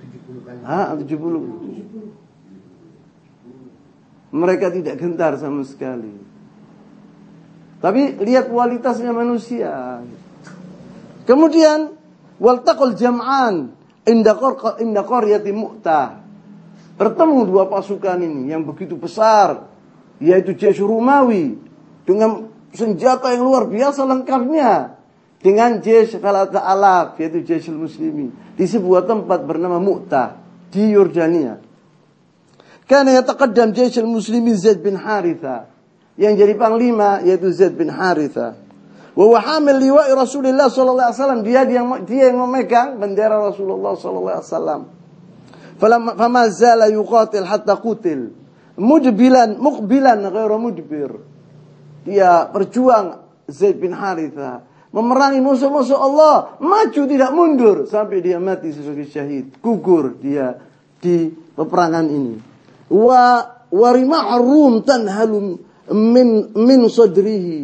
70. Mereka tidak gentar sama sekali. Tapi lihat kualitasnya manusia. Kemudian waltaqal jam'an inda qaryati Mu'tah. Bertemu 2 pasukan ini yang begitu besar, yaitu Jaysh Romawi dengan senjata yang luar biasa lengkapnya, dengan Jaysh Falata Alaf, yaitu Jayshul Muslimin, di sebuah tempat bernama Mu'tah di Yordania. Karena yataqaddam Jayshul Muslimin Zaid bin Haritha, yang jadi panglima yaitu Zaid bin Haritha. Wa huwa hamil liwa'i Rasulullah sallallahu alaihi wasallam, dia yang memegang bendera Rasulullah sallallahu alaihi wasallam. Fama zala yuqatil hatta qutil, muqbilan ghairu mudbir. Dia berjuang, Zaid bin Haritha, memerangi musuh-musuh Allah, maju tidak mundur sampai dia mati sebagai syahid, gugur dia di peperangan ini. Wa rima'ur rum tanhalu min sadrihi,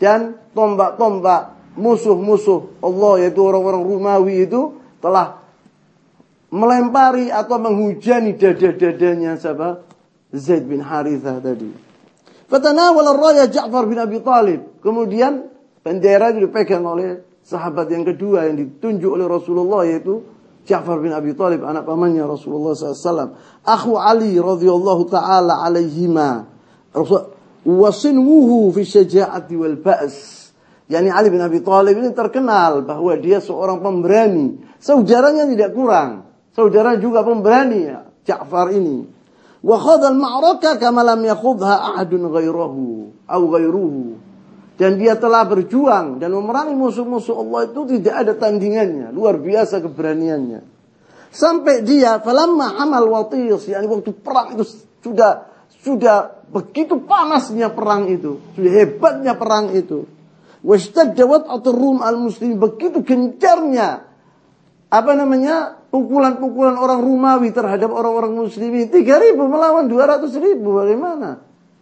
dan tombak-tombak musuh-musuh Allah, yaitu orang-orang Romawi itu telah melempari atau menghujani dada-dadanya siapa? Zaid bin Harithah tadi. Fatanawala raya Ja'far bin Abi Talib. Kemudian bendera itu dipegang oleh sahabat yang kedua yang ditunjuk oleh Rasulullah, yaitu Ja'far bin Abi Talib, anak pamannya Rasulullah SAW. Akhu Ali radhiyallahu ta'ala alaihima. Wasinwuhu fi syaja'ati wal ba's. Yani Ali bin Abi Talib ini terkenal bahwa dia seorang pemberani. Saudaranya tidak kurang. Saudara juga pemberani ya, Ja'far ini. Wa khadha al-ma'raka kama lam yakhudha ahadun ghairuhu. Dan dia telah berjuang dan memerangi musuh-musuh Allah itu tidak ada tandingannya. Luar biasa keberaniannya. Sampai dia falamma amal watis, yani waktu perang itu sudah begitu panasnya perang itu, sudah hebatnya perang itu. Washtadda wat'atur rum al-muslim, begitu gencarnya pukulan-pukulan orang Romawi terhadap orang-orang muslimin. 3.000 melawan 200.000, bagaimana?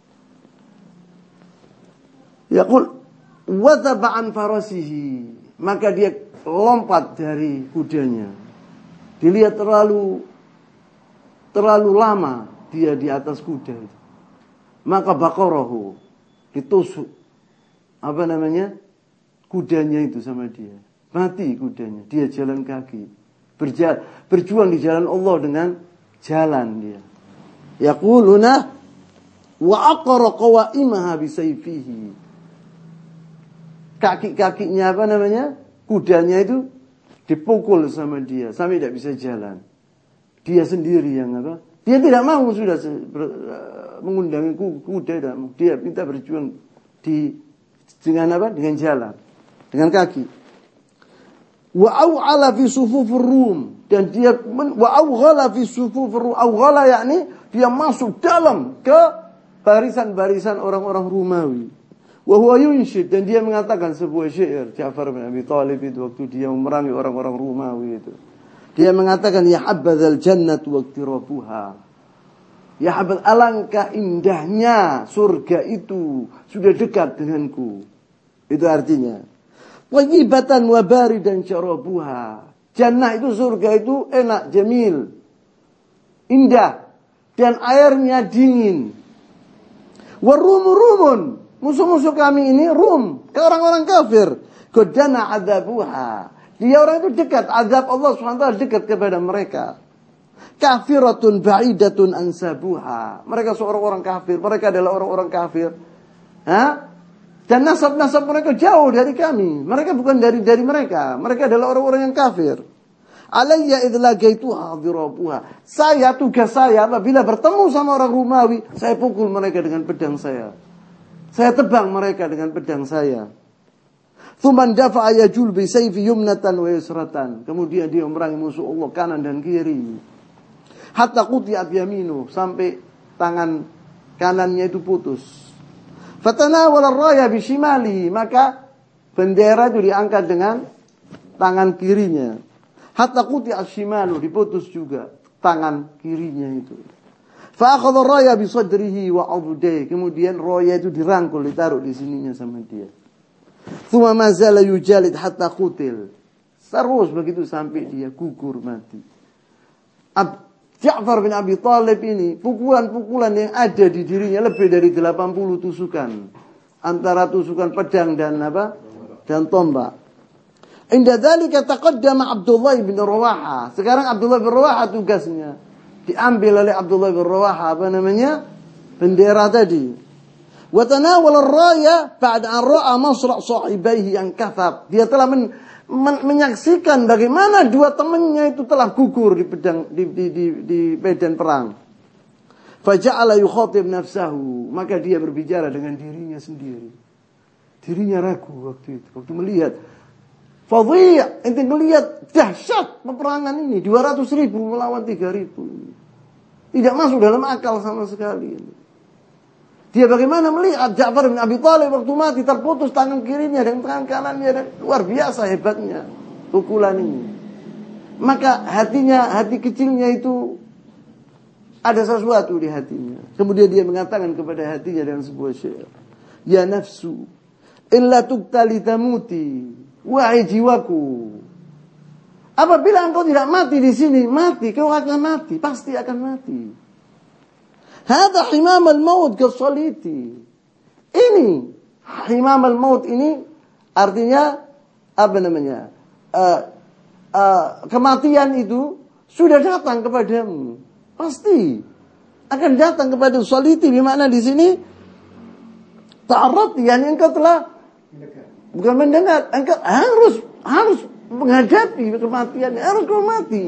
Yaqul wadhaba an farasihi, maka dia lompat dari kudanya. Dilihat terlalu lama dia di atas kuda itu. Maka baqarahu, ditusuk kudanya itu sama dia. Mati kudanya, dia jalan kaki. Berjuang di jalan Allah dengan jalan dia. Yaquluna wa aqara qawaimaha bisayfihi. Kaki-kakinya kudanya itu dipukul sama dia sampai tidak bisa jalan. Dia sendiri yang dia tidak mau sudah mengundang kuda, tidak mau. Dia minta berjuang dengan jalan, dengan kaki. Wa aw'ala fi sufufur rum, dan dia wa awghala fi sufufur rum. Awghala yakni dia masuk dalam ke barisan-barisan orang-orang Romawi. Wa huwa yunshid, dan dia mengatakan sebuah syair. Ja'far bin Abi Talib itu waktu dia memerangi orang-orang Romawi itu, dia mengatakan ya habbadzal jannatu waqtirabuha. Ya habbadz, alangkah indahnya surga itu, sudah dekat denganku. Itu artinya wajibatan wa baridan syarabuha. Jannah itu, surga itu enak, jamil, indah, dan airnya dingin. Warumun, musuh-musuh kami ini Rum, ke orang-orang kafir. Qadana adzabuha, dia orang itu dekat, azab Allah SWT dekat kepada mereka. Kafiratun ba'idatun ansabuha, mereka seorang orang kafir, mereka adalah orang-orang kafir. Dan nasab-nasab mereka jauh dari kami. Mereka bukan dari mereka. Mereka adalah orang-orang yang kafir. Alayya idlagaituha dhirabuha. Tugas saya apabila bertemu sama orang Romawi, saya pukul mereka dengan pedang saya. Saya tebang mereka dengan pedang saya. Thuman dafa'a yajul bi sayfi yumnatan wa yusratan. Kemudian dia memerangi musuh Allah kanan dan kiri. Hatta qutiyat yaminu, sampai tangan kanannya itu putus. Fatanawala ar-raya bishimalihi, maka bendera itu diangkat dengan tangan kirinya. Hatta quti'a shimalu, diputus juga tangan kirinya itu. Fa akhadha ar-raya bi sadrihi wa 'udai, kemudian raya itu dirangkul, ditaruh di sininya sama dia. Thumma ma zala yujalid hatta qutil. Terus begitu sampai dia gugur mati. Ja'far bin Abi Talib ini, pukulan-pukulan yang ada di dirinya lebih dari 80 tusukan. Antara tusukan pedang dan tombak. Inda dzalika taqaddama Abdullah bin Rawaha. Sekarang Abdullah bin Rawaha tugasnya diambil oleh Abdullah bin Rawaha bendera tadi. Wa tanawala ar-raya ba'da an ra'a masra' sahibaihi yang kathab. Dia telah menyaksikan bagaimana dua temannya itu telah gugur di medan perang. Faja'ala yukhatib nafsahu, maka dia berbicara dengan dirinya sendiri. Dirinya ragu waktu itu, waktu melihat fadhi', ente melihat dahsyat peperangan ini, 200.000 melawan 3.000. Tidak masuk dalam akal sama sekali. Dia bagaimana melihat Ja'far bin Abi Talib waktu mati terputus tangan kirinya dan tangan kanannya, dan luar biasa hebatnya pukulan ini. Maka hati kecilnya itu ada sesuatu di hatinya. Kemudian dia mengatakan kepada hatinya dengan sebuah syair, ya nafsu, illa tuqtali tamuti. Wahai jiwaku, apabila engkau tidak mati di sini, mati, kau akan mati, pasti akan mati. Hada himam al-maut kasaliti. Ini himam al-maut ini artinya apa namanya? Kematian itu sudah datang kepadamu. Pasti akan datang kepada saliti, bermakna di sini ta'arrad, yani engkau telah bukan mendengar, engkau harus menghadapi kematian, harus kau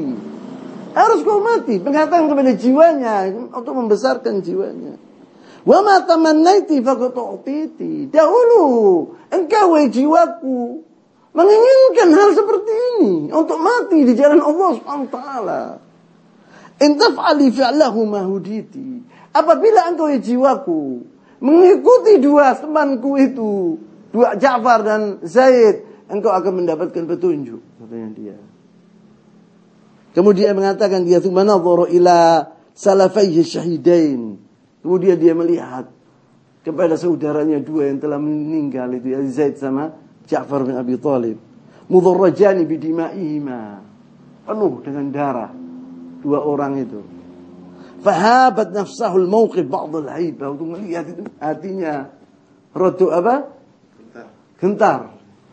mati, mengatakan kepada jiwanya untuk membesarkan jiwanya. Wa ma tamannaiti faqad u'titi. Dahulu engkau wahai jiwaku menginginkan hal seperti ini, untuk mati di jalan Allah Subhanahu wa taala. In taf'ali fi'lahu ma huditi. Apabila engkau wahai jiwaku mengikuti dua temanku itu, dua Ja'far dan Zaid, engkau akan mendapatkan petunjuk, katanya dia. Kemudian mengatakan dia tsumma nadhara ila salafaihi syahidain. Kemudian dia melihat kepada saudaranya dua yang telah meninggal itu, Zaid sama Ja'far bin Abi Thalib. Mudarrajani bidima'ihima. Penuh dengan darah dua orang itu. Fahabat nafsahul mawqif ba'd al-haibah. Untuk melihat itu hatinya rada apa? Gentar.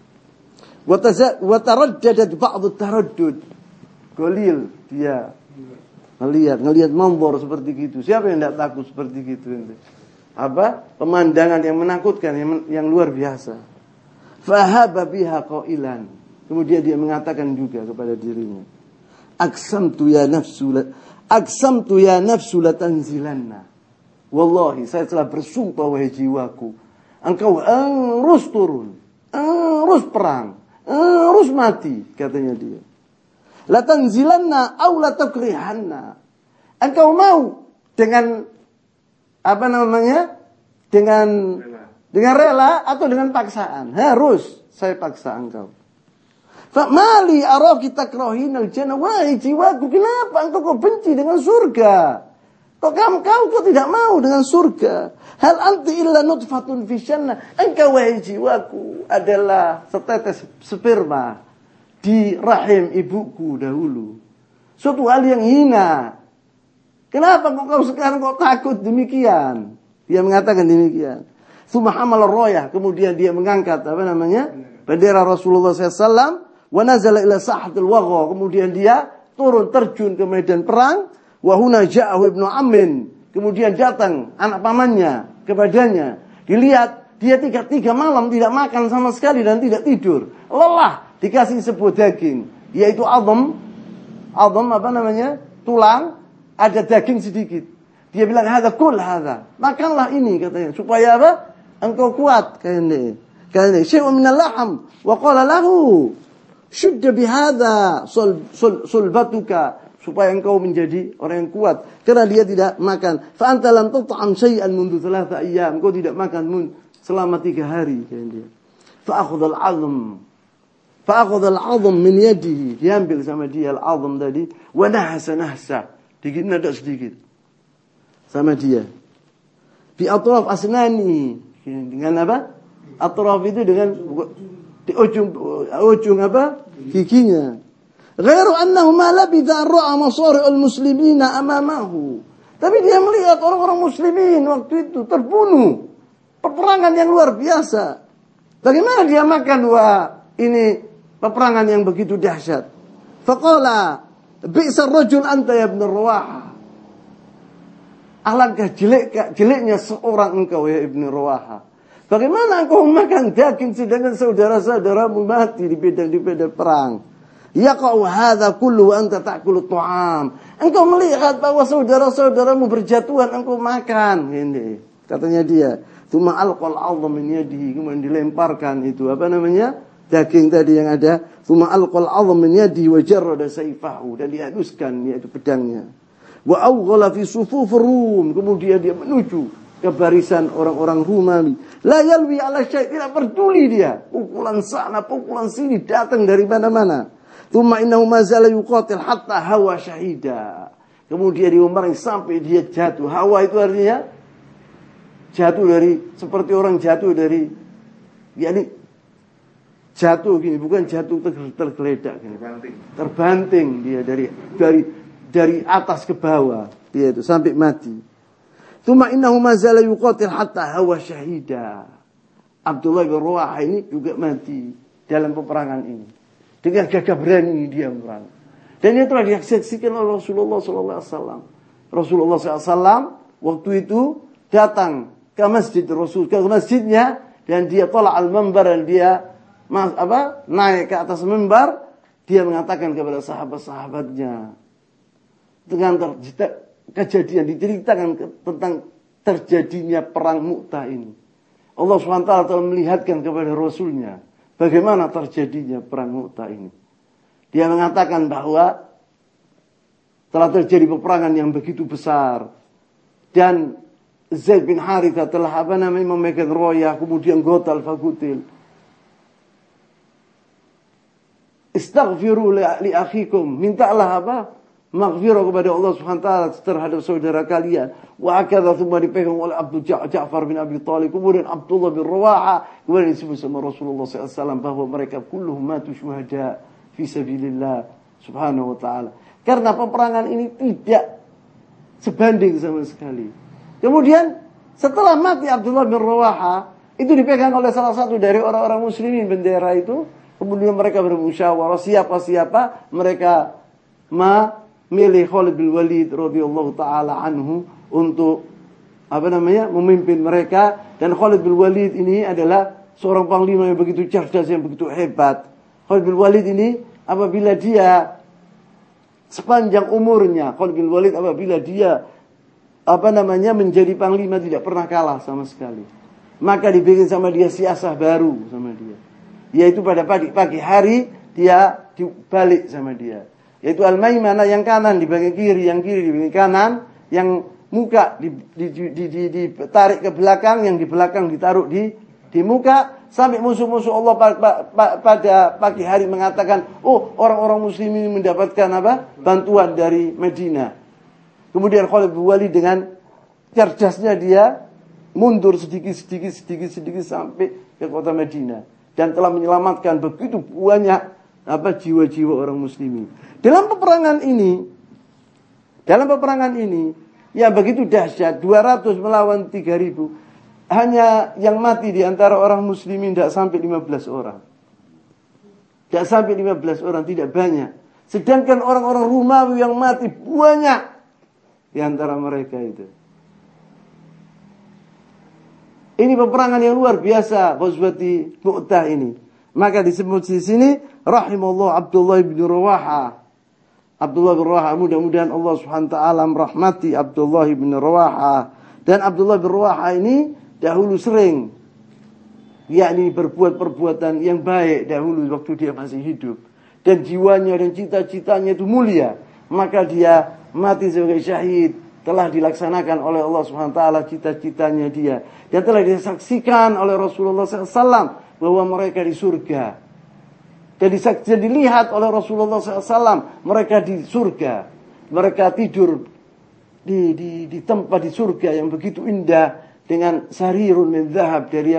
Wa taraddadat ba'd at-taraddud. Qalil dia ngelihat manzor seperti gitu. Siapa yang tidak takut seperti gitu? Apa? Pemandangan yang menakutkan, yang luar biasa. Fahaba biha qailan. Kemudian dia mengatakan juga kepada dirinya, Aksamtu ya nafsu latanzilanna. Wallahi, saya telah bersumpah wahai jiwaku, engkau harus turun, harus perang, harus mati, katanya dia. Latanzilanna aw latakrihanna. Engkau mau dengan apa namanya? Dengan rela atau dengan paksaan? Harus saya paksa engkau. Fa mali araki takrahinal jannah. Wahai jiwaku, kenapa engkau benci dengan surga? Kok kau tidak mau dengan surga? Hal anti illa nutfatun fi jannah. Engkau wahai jiwaku adalah setetes sperma di rahim ibuku dahulu. Suatu hal yang hina. Kenapa kau sekarang takut demikian? Dia mengatakan demikian. Tsumma hamal ar-rayah, kemudian dia mengangkat apa namanya? Bendera Rasulullah SAW. Wa nazala ila sahatil wagha, kemudian dia turun terjun ke medan perang. Wa huna ja'ahu ibnu ammin, kemudian datang anak pamannya kepadanya. Dilihat dia 3 malam tidak makan sama sekali dan tidak tidur. Lelah, dikasih sebuah daging, yaitu azam apa namanya? Tulang, ada daging sedikit. Dia bilang, "Hadza kul hadza." Makanlah ini, katanya, supaya apa? Engkau kuat, katanya. Syai'un minal laham wa qala lahu syudda bihadza sulbatuka, supaya engkau menjadi orang yang kuat, karena dia tidak makan. Fa anta lam tut'am syai'an mundu 3 ayyam, engkau tidak makan selama 3 hari, kata dia. Fa akhadha al-'azm min yadihi, diambil sama dia al-'azm tadi, wa nahsa digigit sedikit sama dia. Bi atraf asnani, dengan apa? Atraf itu dengan di ujung apa? Giginya. Ghairu annahu ma labitha ra'a masari'ul muslimina amamahu. Tapi dia melihat orang-orang muslimin waktu itu terbunuh. Peperangan yang luar biasa. Bagaimana dia makan ini peperangan yang begitu dahsyat? Faqala bi'sa ar-rajul anta ya ibn Rawaha. Alangkah jeleknya seorang engkau ya Ibn Rawaha. Bagaimana engkau makan daging sedangkan saudara-saudaramu mati di medan perang? Yaqa'u hadza kullu wa anta ta'kulu ta'am. Engkau melihat bahwa saudara-saudaramu berjatuhan, engkau makan. Ini katanya dia. Tsumma alqal 'azm min yadihi, kemudian dilemparkan itu apa namanya? Daging tadi yang ada. Tsumma alqal 'azm min yadihi wa jarrada sayfahu, dan dihaduskan yaitu pedangnya. Wa awghala fi sufuf Rum, kemudian dia menuju ke barisan orang-orang Romawi. La yalwi ala syai', tidak peduli dia. Pukulan sana, pukulan sini datang dari mana-mana. Tsumma innahu ma zala yuqatil hatta hawa syahida. Kemudian diumarin sampai dia jatuh. Hawa itu artinya jatuh dari, seperti orang jatuh dari yakni jatuh gini, bukan jatuh tergeledak gini. Terbanting dia dari atas ke bawah, dia itu sampai mati. Tsumma innahu ma zala yuqatil hatta hawa syahida. Abdullah bin Rawaha ini juga mati dalam peperangan ini. Dengan gagah berani dia berperang. Dan itu telah disaksikan oleh Rasulullah sallallahu alaihi wasallam. Rasulullah SAW waktu itu datang ke masjid Rasul, ke masjidnya, dan dia tolak al-mimbar, dan dia naik ke atas mimbar. Dia mengatakan kepada sahabat-sahabatnya dengan kejadian, diceritakan tentang terjadinya perang Mu'tah ini. Allah SWT telah melihatkan kepada Rasulnya bagaimana terjadinya perang Mu'tah ini. Dia mengatakan bahwa telah terjadi peperangan yang begitu besar, dan Zaid bin Harithah telah memegang royah, kemudian gotal fagutil. Istaghfiru li akhikum, mintalah maghfirah kepada Allah Subhanahu wa taala terhadap saudara kalian. Wa akadha thumma dipegang oleh Ja'far bin Abi Thalib, kemudian Abdullah bin Rawaha, kemudian disebut sama Rasulullah SAW bahwa mereka kulluhum matu syuhada fi sabilillah Subhanahu wa taala. Karena peperangan ini tidak sebanding sama sekali. Kemudian setelah mati Abdullah bin Rawaha, itu dipegang oleh salah satu dari orang-orang muslimin bendera itu. Kemudian mereka bermusyawarah siapa-siapa mereka memilih Khalid bin Walid radhiyallahu taala anhu untuk memimpin mereka. Dan Khalid bin Walid ini adalah seorang panglima yang begitu cerdas, yang begitu hebat. Khalid bin Walid ini apabila dia sepanjang umurnya, Khalid bin Walid apabila dia menjadi panglima tidak pernah kalah sama sekali. Maka dibikin sama dia siasah baru sama dia. Yaitu pada pagi hari dia dibalik sama dia. Yaitu al-maimanah yang kanan di bagian kiri, yang kiri di bagian kanan, yang muka ditarik ke belakang, yang di belakang ditaruh di muka, sampai musuh-musuh Allah pada pagi hari mengatakan, oh, orang-orang muslim ini mendapatkan bantuan dari Madinah. Kemudian Khalid bin Walid dengan cerdasnya dia mundur sedikit sampai ke kota Madinah, dan telah menyelamatkan begitu banyak jiwa-jiwa orang muslimin. Dalam peperangan ini yang begitu dahsyat, 200 melawan 3.000, hanya yang mati di antara orang muslimin tidak sampai 15 orang. Tidak sampai 15 orang, tidak banyak. Sedangkan orang-orang Romawi yang mati banyak di antara mereka itu. Ini peperangan yang luar biasa, Ghazwati Mu'tah ini. Maka disebut di sini rahimallahu Abdullah bin Rawaha. Abdullah bin Rawaha, mudah-mudahan Allah Subhanahu wa taala merahmati Abdullah bin Rawaha. Dan Abdullah bin Rawaha ini dahulu sering yakni berbuat perbuatan yang baik dahulu waktu dia masih hidup, dan jiwanya dan cita-citanya itu mulia. Maka dia mati sebagai syahid, telah dilaksanakan oleh Allah Subhanahu wa taala cita-citanya dia, dan telah disaksikan oleh Rasulullah SAW bahwa mereka di surga. Dan dilihat oleh Rasulullah SAW mereka di surga. Mereka tidur di tempat di surga yang begitu indah, dengan sarirun min dzahab, dari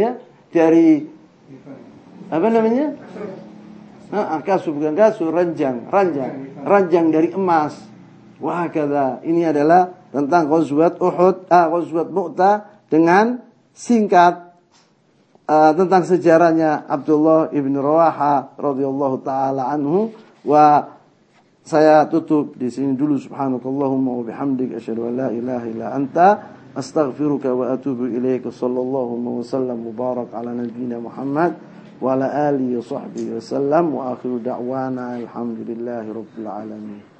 kasur, bukan kasur, ranjang dari emas. Wah, kata ini adalah tentang Ghazwat Mu'tah dengan singkat tentang sejarahnya Abdullah ibn Rawaha radhiyallahu taala anhu. Wa saya tutup di sini dulu. Subhanakallahumma wa bihamdika asyhadu an la ilaha illa anta astaghfiruka wa atubu ilaika. Sallallahu wa sallam mubarak ala nabiyyina Muhammad wa ala alihi wa sahbihi wa sallam, wa akhiru da'wana alhamdulillahi rabbil alamin.